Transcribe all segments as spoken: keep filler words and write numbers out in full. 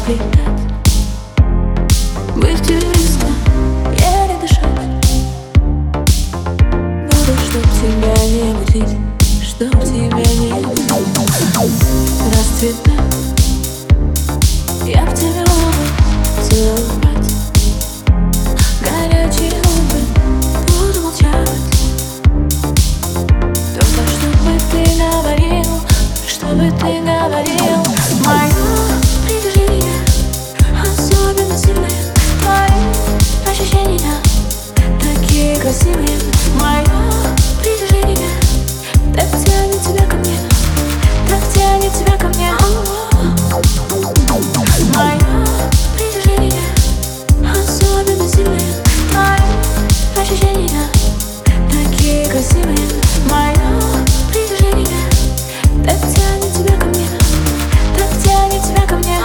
обретать, быть близко, еле дышать. Буду, чтоб тебя не будить, чтоб тебя не будить. Расцветать, я в тебе губы целовать, горячие губы буду молчать. Только чтобы ты говорил, чтобы ты говорил. Мое притяжение особенно сильное, мои ощущения такие красивые. Мое притяжение так тянет тебя ко мне, так тянет тебя ко мне. Мое притяжение особенно сильное, мои ощущения такие красивые. Мое притяжение так тянет тебя ко мне, так тянет тебя ко мне.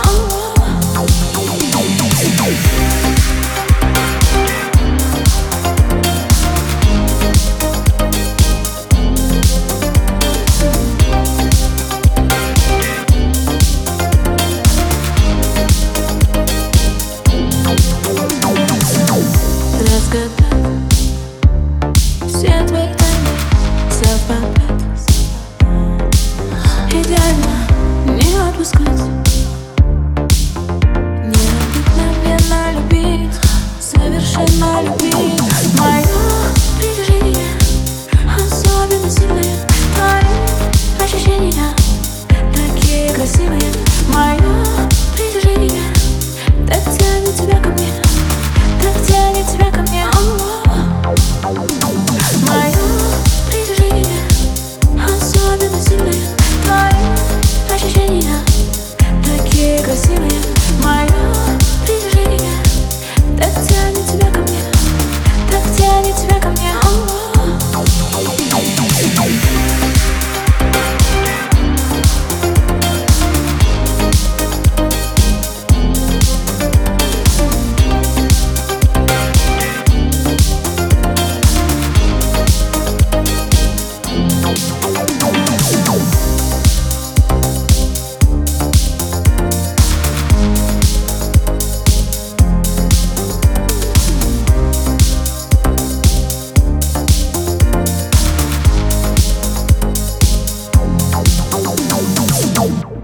Разгадать все твои тайны, совпадать, идеально не отпускать, необыкновенно любить, совершенно любить. Мое притяжение особенно сильное, мои ощущения такие красивые. Мое притяжение так тянет тебя ко мне, так тянет тебя ко мне. Мое притяжение особенно сильное, мои ощущения такие красивые. Мое притяжение так тянет тебя ко мне, так тянет тебя ко мне. Oh.